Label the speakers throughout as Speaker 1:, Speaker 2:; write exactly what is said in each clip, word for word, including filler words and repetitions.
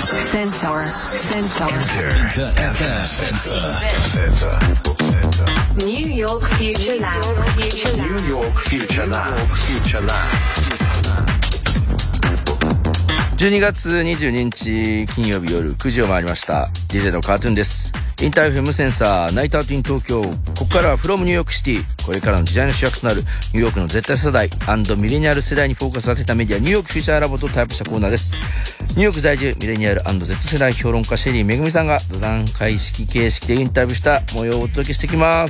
Speaker 1: Sensor. Sensor.
Speaker 2: Enterエフエム Sensor.
Speaker 1: New York Future Lab. Future Lab.
Speaker 2: New York Future Lab. Future Lab.
Speaker 3: じゅうにがつにじゅうににち金曜日夜くじを回りました。 ディージェー のカートゥーンです。インター エフエム センサーナイトアウトイン東京。ここからは from ニューヨークシティ。これからの時代の主役となるニューヨークの Z 世代&ミレニアル世代にフォーカスさせたメディアニューヨークフューチャーラボとタイプしたコーナーです。ニューヨーク在住ミレニアル&Z 世代評論家シェリーめぐみさんが座談会式形式でインタビューした模様をお届けしてきます。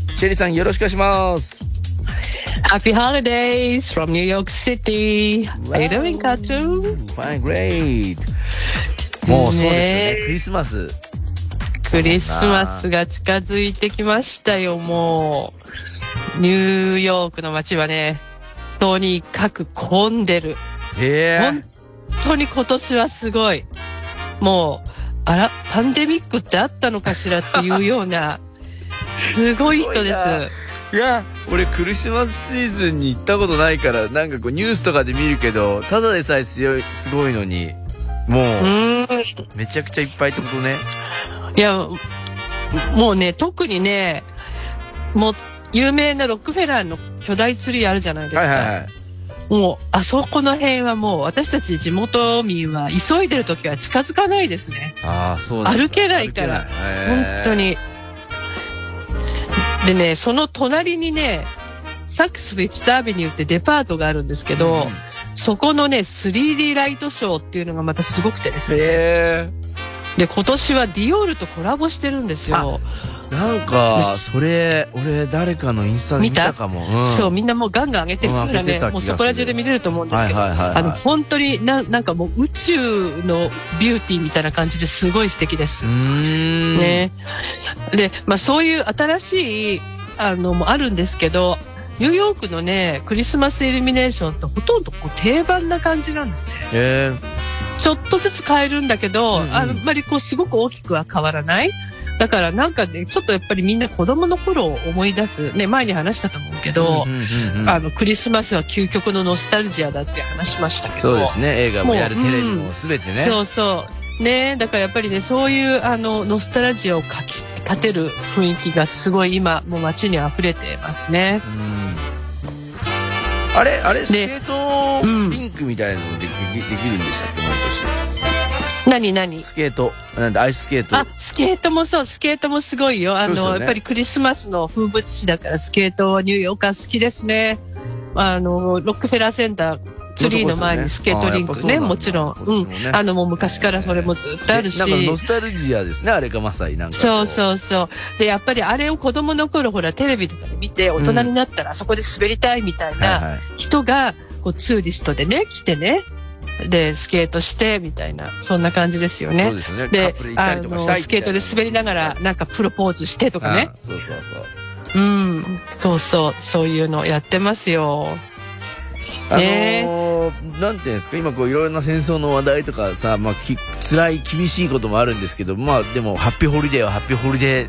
Speaker 3: シェリーさんよろしくお願いします。
Speaker 4: Happy holidays from New York City. How you doing, Cartoon?
Speaker 3: Fine, great. もうそうですよね。クリスマス。
Speaker 4: クリスマスが近づいてきましたよ。もうニューヨークの街はね、とにかく混んでる。
Speaker 3: へー。
Speaker 4: 本当に今年はすごい。もうあらパンデミックってあったのかしらっていうようなすごい人です。
Speaker 3: いや、俺クリスマスシーズンに行ったことないからなんかこうニュースとかで見るけどただでさえすごい、すごいのにもう、うーんめちゃくちゃいっぱいってことね。
Speaker 4: いやもうね特にねもう有名なロックフェラーの巨大ツリーあるじゃないですか、はいはいはい、もうあそこの辺はもう私たち地元民は急いでる時は近づかないですね。
Speaker 3: あ、そうなんだ。
Speaker 4: 歩けないから本当に。でね、その隣にね、サックスフィッチタービニューってデパートがあるんですけど、うん、そこのね スリーディー ライトショーっていうのがまたすごくてですね。
Speaker 3: へー。
Speaker 4: で今年はディオールとコラボしてるんですよ。
Speaker 3: なんかそれ俺誰かのインスタで見たかも、うん、
Speaker 4: そうみんなもうガンガン上げてるからね、もうそこら中で見れると思うんですけど、はいはいはいはい、あの本当に な, なんかもう宇宙のビューティーみたいな感じですごい素敵です。
Speaker 3: うーん、
Speaker 4: ね、で、まあ、そういう新しいあのもあるんですけど、ニューヨークのねクリスマスイルミネーションってほとんどこう定番な感じなんですね。
Speaker 3: へー。
Speaker 4: ちょっとずつ変えるんだけど、うんうん、あんまりこうすごく大きくは変わらない。だからなんかねちょっとやっぱりみんな子供の頃を思い出すね、前に話したと思うけど、うんうんうんうん、あのクリスマスは究極のノスタルジアだって話しましたけど、
Speaker 3: そうですね、映画もやるテレビも全てね、
Speaker 4: うん、そうそうね、だからやっぱりねそういうあのノスタルジアをかき立てる雰囲気がすごい今もう街に溢れてますね。
Speaker 3: うん、あれあれスケートリンクみたいなのもでき、うん、できるんでしたっけ毎年。
Speaker 4: 何何
Speaker 3: スケートなんでアイススケート。
Speaker 4: あ、スケートもそう、スケートもすごいよ。あの、ね、やっぱりクリスマスの風物詩だからスケートはニューヨーカー好きですね。あのロックフェラーセンターツリーの前にスケートリンク ね, ねもちろん、うん、あのもう昔からそれもずっとあるし、
Speaker 3: なんかノスタルジアですね、あれがまさになんか
Speaker 4: そうそうそう。でやっぱりあれを子供の頃ほらテレビとかで見て大人になったらあそこで滑りたいみたいな人がこうツーリストでね来てね、でスケートしてみたいなそんな感じですよね。
Speaker 3: そうですね。
Speaker 4: で
Speaker 3: カップル行ったりとかしたいみたいな、
Speaker 4: スケートで滑りながらなんかプロポーズしてとかね。
Speaker 3: ああそうそうそう。
Speaker 4: うん、そうそうそういうのやってますよ。
Speaker 3: あのー、なんていうんですか、今こういろいろな戦争の話題とかさ、まあき辛い厳しいこともあるんですけど、まあでもハッピーホリデーはハッピーホリデー。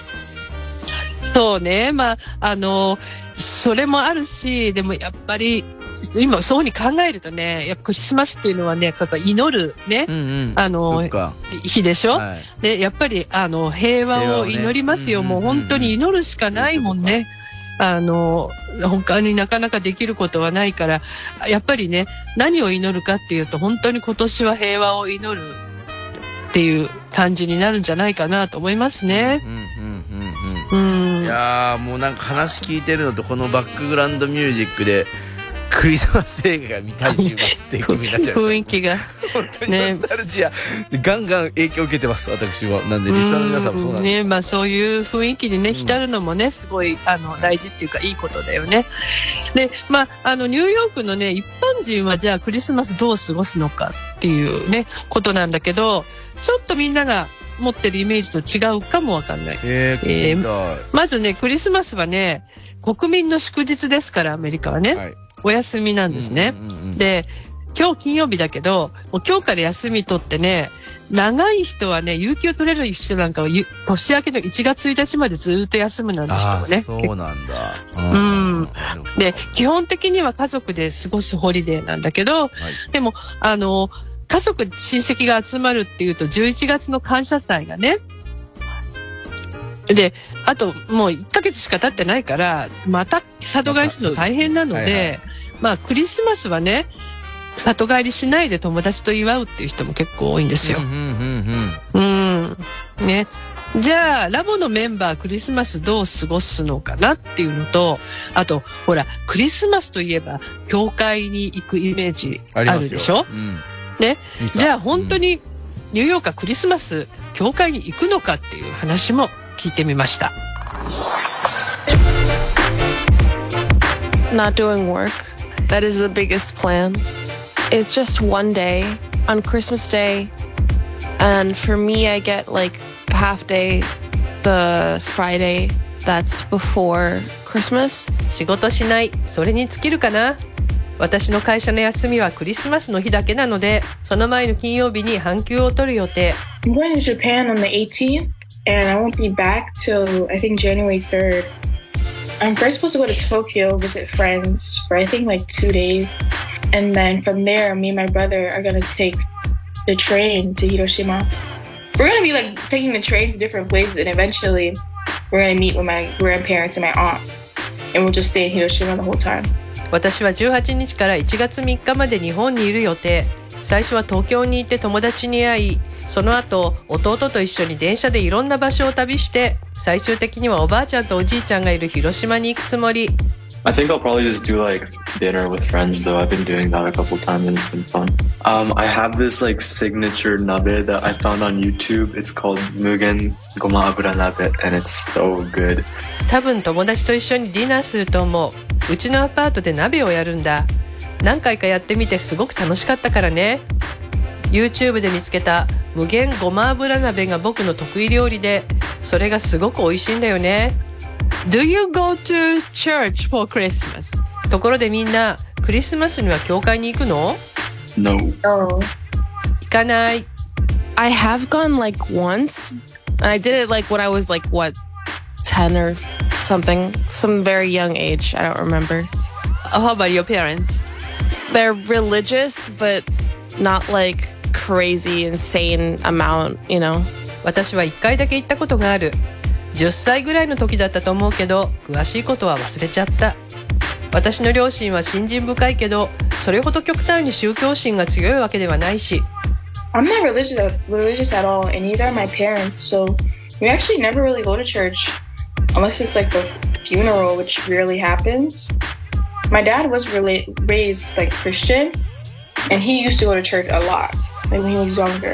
Speaker 4: そうね、まああのー、それもあるし、でもやっぱり今そうに考えるとね、やっぱクリスマスっていうのはね、やっぱ祈るね、うんうん、あの日でしょ、はい、でやっぱりあの平和を祈りますよ、ね、もう本当に祈るしかないもんね。あの他になかなかできることはないから、やっぱりね何を祈るかっていうと本当に今年は平和を祈るっていう感じになるんじゃないかなと思いますね。
Speaker 3: いやーもうなんか話聞いてるのとこのバックグラウンドミュージックでクリスマス映画が見たい週末っていう気分になっちゃいました。
Speaker 4: 雰囲気が
Speaker 3: 本当にノスタルジア、ね、ガンガン影響を受けてます私も。なんでリスナーの皆さんもそうなんです、
Speaker 4: ね、まあ、そういう雰囲気にね浸るのもねすごいあの大事っていうかいいことだよね。で、まあ、あのニューヨークのね一般人はじゃあクリスマスどう過ごすのかっていうねことなんだけど、ちょっとみんなが持ってるイメージと違うかもわかんない。
Speaker 3: えーえ
Speaker 4: ー、まずねクリスマスはね国民の祝日ですから、アメリカはね、はい、お休みなんですね、うんうんうん、で今日金曜日だけどもう今日から休み取ってね、長い人はね有給取れる人なんかは年明けのいちがつついたちまでずっと休むなんて人もね。
Speaker 3: そうなんだ。
Speaker 4: うん。で基本的には家族で過ごすホリデーなんだけど、はい、でもあの家族、親戚が集まるっていうと、じゅういちがつの感謝祭がね。で、あともういっかげつしか経ってないから、また里帰りするの大変なので、はいはい、まあクリスマスはね、里帰りしないで友達と祝うっていう人も結構多いんですよ。うん、うん、うん。ね。じゃあ、ラボのメンバークリスマスどう過ごすのかなっていうのと、あと、ほら、クリスマスといえば、教会に行くイメージあるでしょ？うん、ね。じゃあ、本当にニューヨークはクリスマス、教会に行くのかっていう話も聞いてみました。
Speaker 5: Not doing work. That is the biggest plan. It's just one day on Christmas Day. And for me, I get like half day the Friday that's before Christmas.
Speaker 4: 仕事しない。それに尽きるかな。私の会社の休みはクリスマスの日だけなので、その前の金曜日に半休を取る予定。
Speaker 6: I'm going to Japan on the eighteenth, and I won't be back till I think January third. I'm first supposed to go to Tokyo, visit friends for I think like two days. And then from there, me and my brother are going to take the train to Hiroshima. We're going to be like taking the train to different places, and eventually we're going to meet with my grandparents and my aunt. And we'll just stay in Hiroshima the whole time.
Speaker 4: 私はじゅうはちにちからいちがつみっかまで日本にいる予定。最初は東京に行って友達に会い、その後弟と一緒に電車でいろんな場所を旅して、最終的にはおばあちゃんとおじいちゃんがいる広島に行くつもり。
Speaker 7: I think I'll probably just do like dinner with friends though. I've been doing that a couple times and it's been fun. Um, I have this like signature nabe that I found on YouTube. It's called Mugen Goma Abura Nabe and it's so good.
Speaker 4: 多分友達と一緒にディナーすると思う。うちのアパートで鍋をやるんだ。何回かやってみてすごく楽しかったからね。YouTube で見つけた無限ごま油鍋が僕の得意料理で、それがすごく美味しいんだよね。Do you go to church for Christmas? ところでみんな、クリスマスには教会に行くの？
Speaker 7: No.
Speaker 6: No.
Speaker 4: 行かない。
Speaker 5: I have gone like once. And I did it like when I was like, what, ten or something? Some very young age. I don't remember.
Speaker 4: How about your parents?
Speaker 5: They're religious, but not like crazy, insane amount, you know?
Speaker 4: 私はいっかいだけ行ったことがある。じゅっさいぐらいの時だったと思うけど、詳しいことは忘れちゃった。私の両親は信心深いけど、それほど極端に宗教心が強いわけではないし。
Speaker 6: I'm not religious, religious at all, and neither are my parents, so we actually never really go to church, unless it's like the funeral, which rarely happens. My dad was really raised like Christian, and he used to go to church a lot, like when he was younger.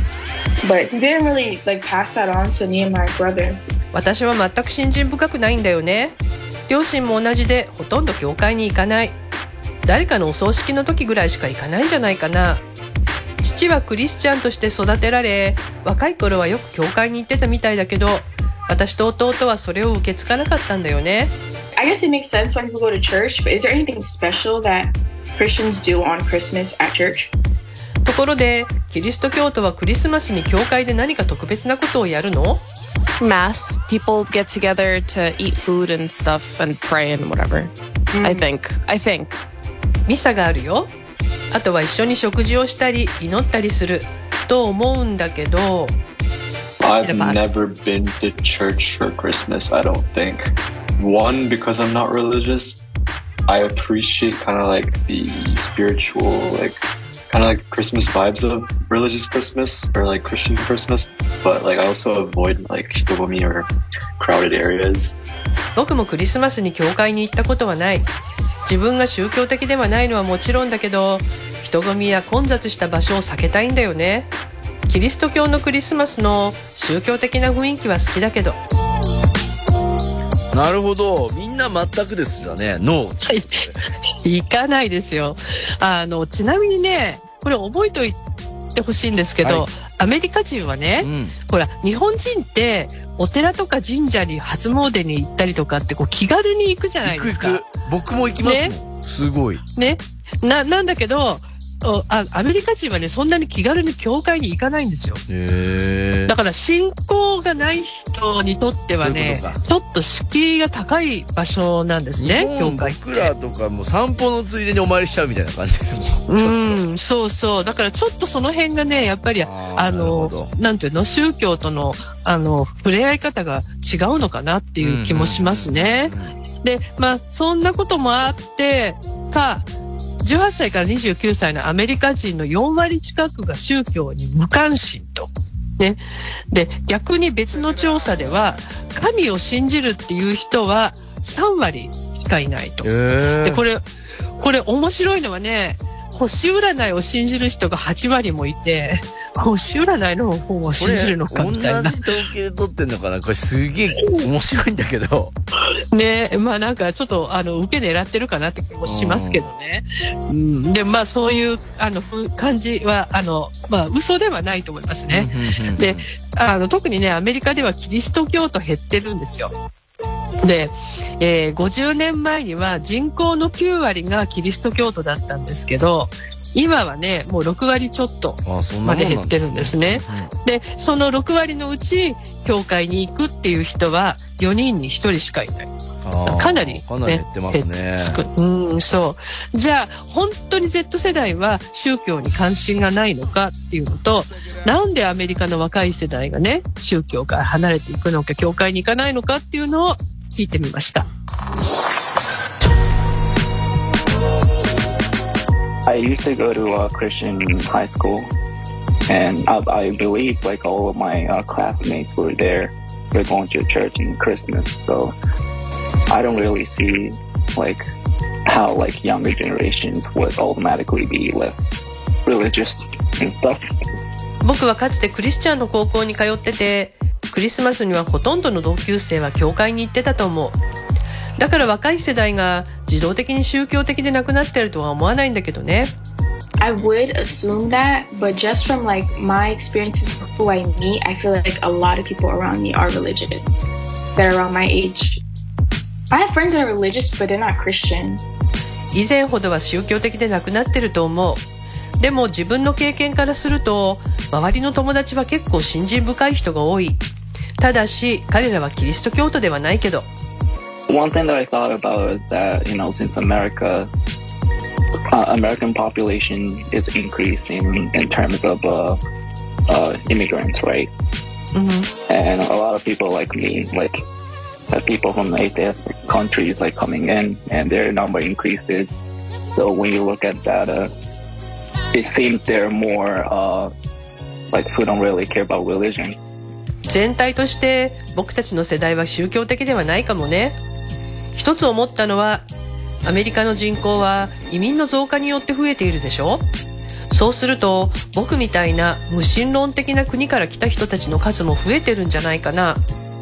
Speaker 6: But he didn't really like pass that on to me and my brother.
Speaker 4: 私は全く信心深くないんだよね。両親も同じでほとんど教会に行かない。誰かのお葬式の時ぐらいしか行かないんじゃないかな。父はクリスチャンとして育てられ、若い頃はよく教会に行ってたみたいだけど、私と弟はそれを受け継がなかったんだよね。
Speaker 6: I guess it makes sense when people go to church, but is there anything special that Christians do on Christmas at church?
Speaker 4: ところで、キリスト教徒はクリスマスに教会で何か特別なことをやるの？
Speaker 5: Mass. People get together to eat food and stuff and pray and whatever. Mm. I think. I think.
Speaker 4: ミサがあるよ。あとは一緒に食事をしたり祈ったりすると思うんだけど。
Speaker 7: I've never been to church for Christmas, I don't think. One, because I'm not religious. I appreciate kind of like the spiritual, like kind of like Christmas vibes of religious Christmas or like Christian Christmas. But like I also avoid like hitogomi or crowded areas.
Speaker 4: 僕もクリスマスに教会に行ったことはない。自分が宗教的ではないのはもちろんだけど、人混みや混雑した場所を避けたいんだよね。キリスト教のクリスマスの宗教的な雰囲気は好きだけど。
Speaker 3: なるほど。みんな全くですよね。ノー。
Speaker 4: 行かないですよ。あの、ちなみにね、これ覚えておいてほしいんですけど、はい、アメリカ人はね、うん、ほら、日本人ってお寺とか神社に初詣に行ったりとかってこう気軽に行くじゃないですか。
Speaker 3: 行く行く。僕も行きますもん。ね、すごい。
Speaker 4: ね。な、なんだけど、 あアメリカ人はねそんなに気軽に教会に行かないんですよ。へだから信仰がない人にとってはねちょっと敷居が高い場所なんですね。教会って
Speaker 3: 僕らとかもう散歩のついでにお参りしちゃうみたいな感じですもん。
Speaker 4: うんそうそうだからちょっとその辺がねやっぱりああのなんていうの宗教とのあの触れ合い方が違うのかなっていう気もしますね。でまあそんなこともあってかじゅうはっさいからにじゅうきゅうさいのアメリカ人のよんわり近くが宗教に無関心と。ね、で逆に別の調査では神を信じるっていう人はさんわりしかいないと。でこれこれ面白いのはね星占いを信じる人がはちわりもいて星占いの方を信じるのかみたいな。
Speaker 3: 同じ統計取ってんのかなこれすげえ面白いんだけど
Speaker 4: ねまあなんかちょっとあの受け狙ってるかなって気もしますけどね。うん、でまあそういうあの感じはあのまあ嘘ではないと思いますね。であの特にねアメリカではキリスト教徒減ってるんですよ。で、えー、ごじゅうねんまえには人口のきゅうわりがキリスト教徒だったんですけど今はねもうろくわりちょっとまで減ってるんですね。でそのろくわりのうち教会に行くっていう人はよにんにひとりしかいない。かなり、ね、
Speaker 3: かなり減ってますね。
Speaker 4: うんそうじゃあ本当に Z 世代は宗教に関心がないのかっていうのとなんでアメリカの若い世代がね宗教から離れていくのか教会に行かないのかっていうのを聞いてみました。
Speaker 8: I used to go to a Christian high school, and I, I believe like all of my uh, classmates were there. They're going to church in Christmas, so I don't really see like how like younger generations would automatically be less religious and stuff.
Speaker 4: 僕はかつてクリスチャンの高校に通ってて、クリスマスにはほとんどの同級生は教会に行ってたと思う。だから若い世代が自動的に宗教的でなくなってるとは思わないんだけどね。
Speaker 6: I would assume that, but just from like my experiences who I meet, I feel like a lot of people around me are religious that are around my age. I have friends that are religious, but they're not Christian.
Speaker 4: 以前ほどは宗教的でなくなってると思う。でも自分の経験からすると周りの友達は結構信心深い人が多い。ただし彼らはキリスト教徒ではないけど。
Speaker 8: One thing that I thought about is that, you know, since America, uh, American population is increasing in terms of uh, uh, immigrants, right? Mm-hmm. And a lot of people like me, like, have people from atheist countries like coming in, and their number increases. So when you look at data, it seems they're more uh, like who don't really care about religion.
Speaker 4: 全体として僕たちの世代は宗教的ではないかもね。一つ思ったのはアメリカの人口は移民の増加によって増えているでしょ。そうすると僕みたいな無神論的な国から来た人たちの数も増えてるんじゃないかな。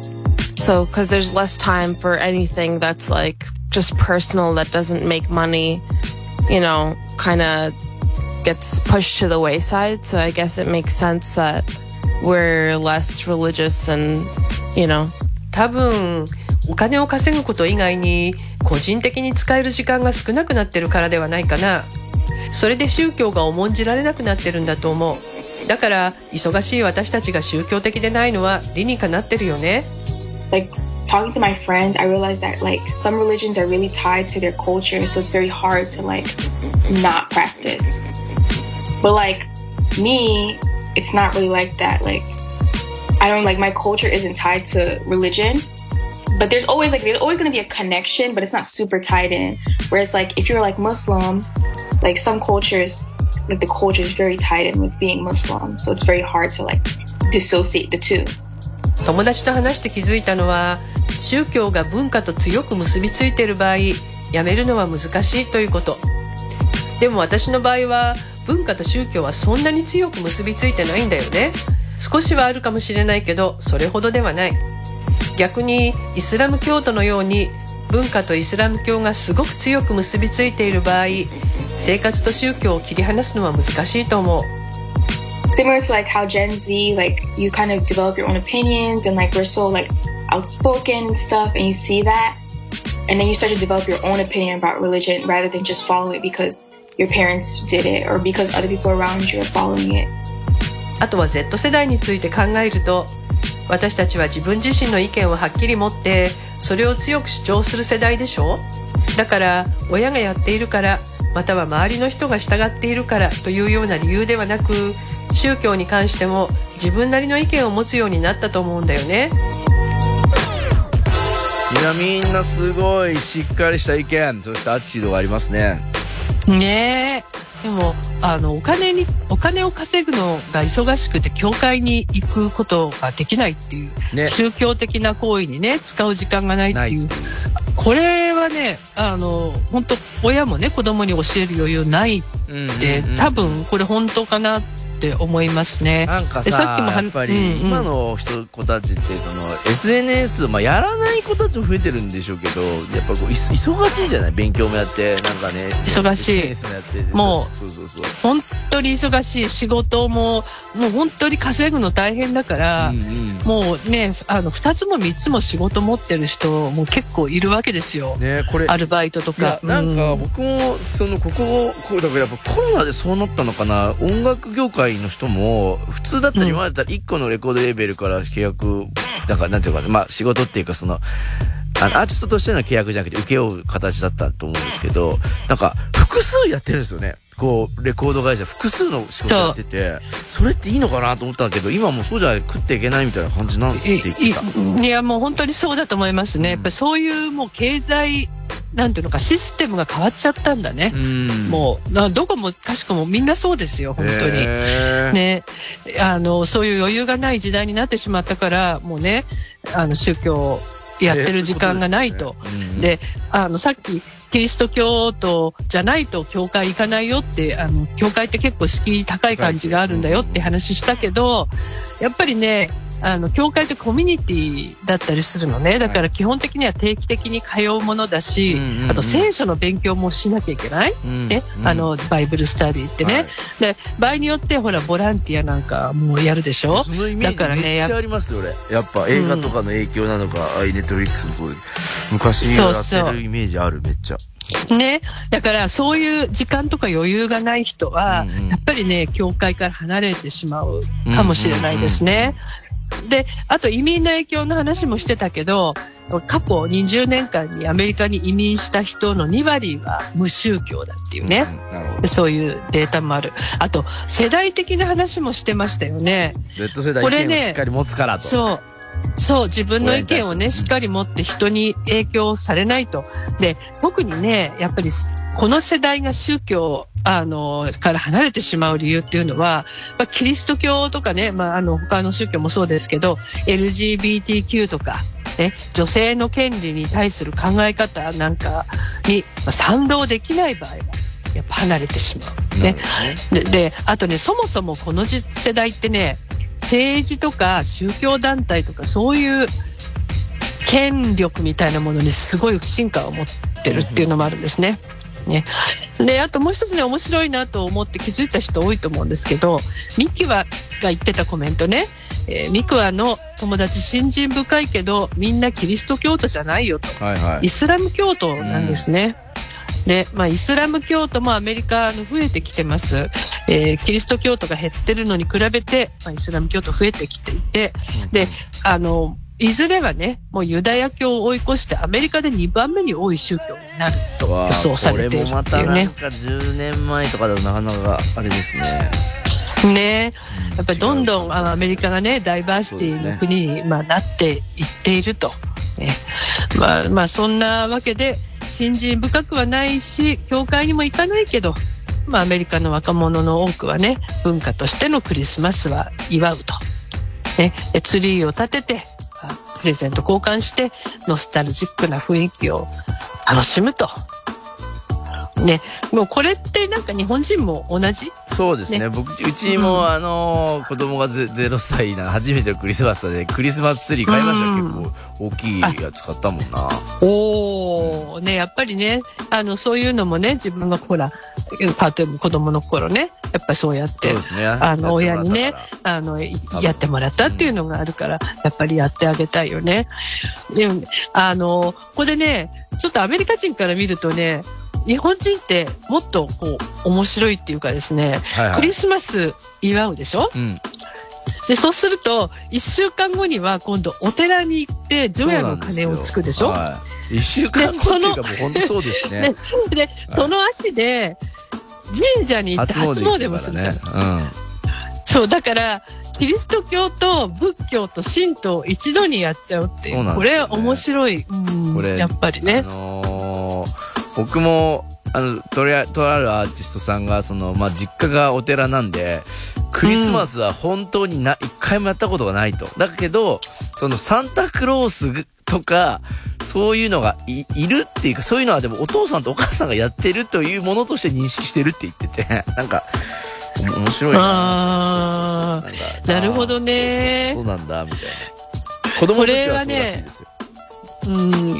Speaker 5: So, because there's less time for anything that's like just personal that doesn't make money, you know, kind of gets pushed to the wayside. So I guess it makes sense that we're less religious and, you know.
Speaker 4: 多分お金を稼ぐこと以外に個人的に使える時間が少なくなってるからではないかな。それで宗教が重んじられなくなってるんだと思う。だから忙しい私たちが宗教的でないのは理にかなってるよね。
Speaker 6: Like talking to my friends, I realized that like some religions are really tied to their culture, so it's very hard to like not practice. But like me, it's not really like that. Like I don't like my culture isn't tied to religion, but there's always like there's always going to be a connection, but it's not super tied in. Whereas like if you're like Muslim, like some cultures, like the culture is very tied in with being Muslim, so it's very hard to like dissociate the two.
Speaker 4: 友達と話して気づいたのは宗教が文化と強く結びついている場合やめるのは難しいということ。でも私の場合は文化と宗教はそんなに強く結びついてないんだよね。少しはあるかもしれないけどそれほどではない。逆にイスラム教徒のように文化とイスラム教がすごく強く結びついている場合生活と宗教を切り離すのは難しいと思う。
Speaker 6: Similar to like how Gen Z, like you kind of develop your own opinions and like we're so like outspoken and stuff and you see that and then you start to develop your own opinion about religion rather than just follow it because your parents did it or because other people around you are following it.
Speaker 4: あとは Z 世代について考えると、私たちは自分自身の意見をはっきり持ってそれを強く主張する世代でしょ。だから親がやっているからまたは周りの人が従っているからというような理由ではなく、宗教に関しても自分なりの意見を持つようになったと思うんだよね。
Speaker 3: いや、みんなすごいしっかりした意見、そしてアッチードがありますね。
Speaker 4: ねえ、でもあのお金にお金を稼ぐのが忙しくて教会に行くことができないっていう、ね、宗教的な行為にね使う時間がないっていう、これはね、あの本当親もね子供に教える余裕ないって、うんうんうん、多分これ本当かなって思いますね。
Speaker 3: なんか さ, さっきもやっぱり今の人子たちってその エスエヌエス、まあ、やらない子たちも増えてるんでしょうけど、やっぱこう忙しいじゃない、勉強もやってなんかね
Speaker 4: 忙しい、 エスエヌエス もやってもう
Speaker 3: そうそうそう
Speaker 4: 本当に忙しい、仕事ももう本当に稼ぐの大変だから、うんうん、もうねあのふたつもみっつも仕事持ってる人も結構いるわけですよ、ね、これアルバイトとか。
Speaker 3: なんか僕もそのこここうだからやっぱコロナでそうなったのかな、音楽業界の人も普通だったら今までだったらいっこのレコードレーベルから契約だからなんていうか、まあ仕事っていうかそのあのアーティストとしての契約じゃなくて請け負う形だったと思うんですけど、なんか複数やってるんですよね。こうレコード会社複数の仕事やってて、それっていいのかなと思ったんだけど、今もうそうじゃない食っていけないみたいな感じなんて言ってた。
Speaker 4: い, いやもう本当にそうだと思いますね、うん、やっぱりそういうもう経済なんていうのかシステムが変わっちゃったんだね、うん、もうどこもかしこもみんなそうですよ本当に、ね、あのそういう余裕がない時代になってしまったから、もうねあの宗教やってる時間がないと、えー で, ねうん、であのさっきキリスト教徒じゃないと教会行かないよって、あの教会って結構敷居高い感じがあるんだよって話したけど、やっぱりねあの教会ってコミュニティだったりするのね。だから基本的には定期的に通うものだし、はい、あと聖書の勉強もしなきゃいけない、うんねうん、あのバイブルスタディってね、はい、で場合によってほらボランティアなんかもうやるでしょ。
Speaker 3: そのイメージめっちゃありますよ俺。やっぱ映画とかの影響なのか、うん、ネットフリックスもそうで昔やってるイメージある。めっちゃ
Speaker 4: ね、だからそういう時間とか余裕がない人は、うんうん、やっぱりね教会から離れてしまうかもしれないですね、うんうんうん、であと移民の影響の話もしてたけど、過去にじゅうねんかんにアメリカに移民した人のにわりは無宗教だっていうね、うん、そういうデータもある。あと世代的な話もしてましたよね。
Speaker 3: Z 世代意見をしっかり持つからと。
Speaker 4: そうそう自分の意見をねしっかり持って人に影響されないと。で特にねやっぱりこの世代が宗教あのから離れてしまう理由っていうのは、まあ、キリスト教とかね、まあ、あの他の宗教もそうですけど エルジービーティーキュー とか、ね、女性の権利に対する考え方なんかに賛同できない場合はやっぱ離れてしまう、ね、で, であとねそもそもこの世代ってね政治とか宗教団体とかそういう権力みたいなものにすごい不信感を持ってるっていうのもあるんですね。ねであともう一つね面白いなと思って気づいた人多いと思うんですけど、ミキワが言ってたコメントね、えー、ミキワの友達信心深いけどみんなキリスト教徒じゃないよと、はいはい、イスラム教徒なんですね、うんでまあ、イスラム教徒もアメリカの増えてきてます、えー、キリスト教徒が減ってるのに比べて、まあ、イスラム教徒増えてきていて、であのいずれはねもうユダヤ教を追い越してアメリカでにばんめに多い宗教になると予想されているっていうね。これもまた
Speaker 3: なんかじゅうねんまえとかだとなかなかあれですね。
Speaker 4: ねやっぱりどんどんアメリカがねダイバーシティの国に、まあ、なっていっていると、ねまあまあ、そんなわけで信心深くはないし教会にも行かないけど、まあ、アメリカの若者の多くはね文化としてのクリスマスは祝うと、ね、ツリーを立ててプレゼント交換してノスタルジックな雰囲気を楽しむとね、もうこれってなんか日本人も同じ。
Speaker 3: そうですね、ね僕うちも、うん、あの子供がゼロさいな初めてのクリスマスでクリスマスツリー買いました、うん、結構大きいやつ買ったもんな。
Speaker 4: おー、ねやっぱりねあのそういうのもね自分がほらパート子供の頃ねやっぱりそうやって、ね、あの親にねあのやってもらったっていうのがあるから、うん、やっぱりやってあげたいよね。でもあのここでねちょっとアメリカ人から見るとね日本人ってもっとこう面白いっていうかですね、はいはい、クリスマス祝うでしょ、うん、でそうするといっしゅうかんごには今度お寺に行って除夜の鐘をつくでしょ。
Speaker 3: はい、いっしゅうかんごっていうかもう本当そうですね。
Speaker 4: で, で、はい、その足で神社に行って初詣もするじゃん、ね、うん、そうだからキリスト教と仏教と神道を一度にやっちゃうっていう、う、ね、これ面白い、うん、これやっぱりね、あの
Speaker 3: ー、僕もあのとりあとあるアーティストさんがその、まあ、実家がお寺なんでクリスマスは本当にな、うん、一回もやったことがないと。だけどそのサンタクロースとかそういうのが い, いるっていうか、そういうのはでもお父さんとお母さんがやってるというものとして認識してるって言ってて、なんか面白いな。
Speaker 4: ああ、そうそうそう、なんかなるほどね。
Speaker 3: そうそうそうなんだみたいな。子供の時はそうらしいですよ。
Speaker 4: うん、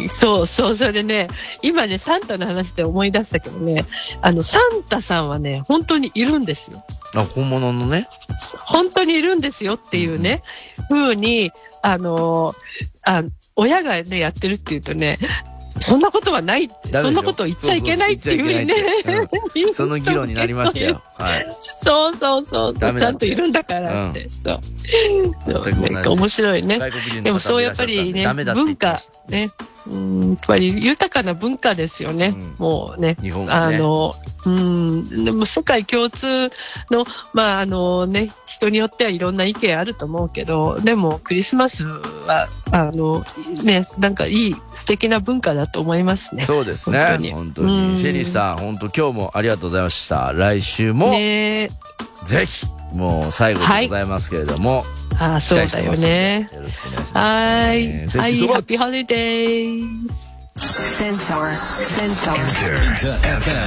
Speaker 4: そうそう、それでね、今ね、サンタの話で思い出したけどね、あの、サンタさんはね、本当にいるんですよ。
Speaker 3: あ、本物のね。
Speaker 4: 本当にいるんですよっていうね、うん、風に、あの、あ、親がね、やってるっていうとね、そんなことはない、そんなことを言っちゃいけないっていうふうにね、
Speaker 3: うん、その議論になりましたよ。はい。
Speaker 4: そうそうそうそう、ちゃんといるんだからって、うん、そう。なんか面白いね。でもそうやっぱりね、文化ね、うん、やっぱり豊かな文化ですよね。うん、もうね、
Speaker 3: 日本
Speaker 4: がね、あの、うん、でも世界共通の、まああのね、人によってはいろんな意見あると思うけど、でもクリスマスはあのね、なんかいい素敵な文化だと思いますね。
Speaker 3: そうですね。本当に。本当にシェリーさん、本当今日もありがとうございました。来週も、ね、ぜひもう最後でございますけれども、
Speaker 4: はい、ああそうだよね。
Speaker 3: よろしくお願いします、ね。
Speaker 4: はい。はい。ハッピーホリデーズ。
Speaker 1: Sensor. Sensor.
Speaker 2: Enter F M.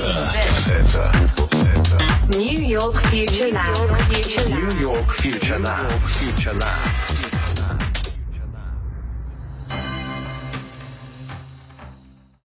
Speaker 2: Sensor. Sensor.
Speaker 1: New York Future Lab.
Speaker 2: New York Future Lab. Future Lab.